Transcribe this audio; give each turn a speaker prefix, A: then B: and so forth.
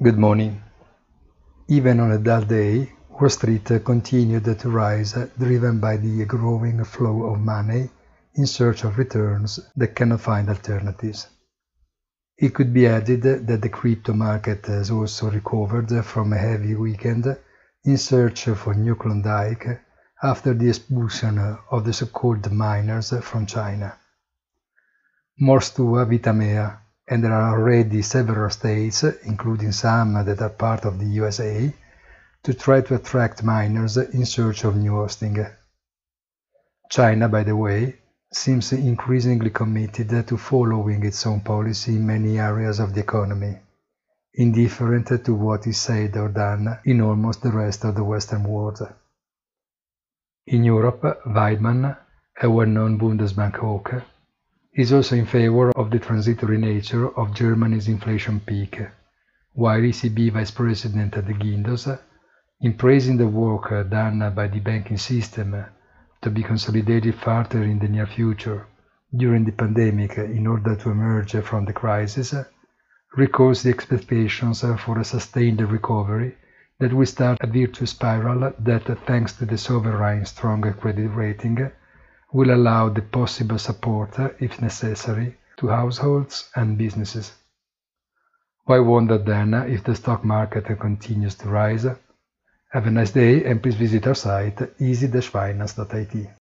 A: Good morning. Even on a dull day, Wall Street continued to rise, driven by the growing flow of money in search of returns that cannot find alternatives. It could be added that the crypto market has also recovered from a heavy weekend in search for new Klondike after the expulsion of the so-called miners from China. Mors tua vita mea, and there are already several states, including some that are part of the USA, to try to attract miners in search of new hosting. China, by the way, seems increasingly committed to following its own policy in many areas of the economy, indifferent to what is said or done in almost the rest of the Western world. In Europe, Weidmann, a well-known Bundesbank hawk, is also in favor of the transitory nature of Germany's inflation peak, while ECB Vice President De Guindos, in praising the work done by the banking system to be consolidated further in the near future during the pandemic in order to emerge from the crisis, recalls the expectations for a sustained recovery that will start a virtuous spiral that, thanks to the sovereign's strong credit rating, will allow the possible support, if necessary, to households and businesses. Why wonder then if the stock market continues to rise? Have a nice day and please visit our site easy-finance.it.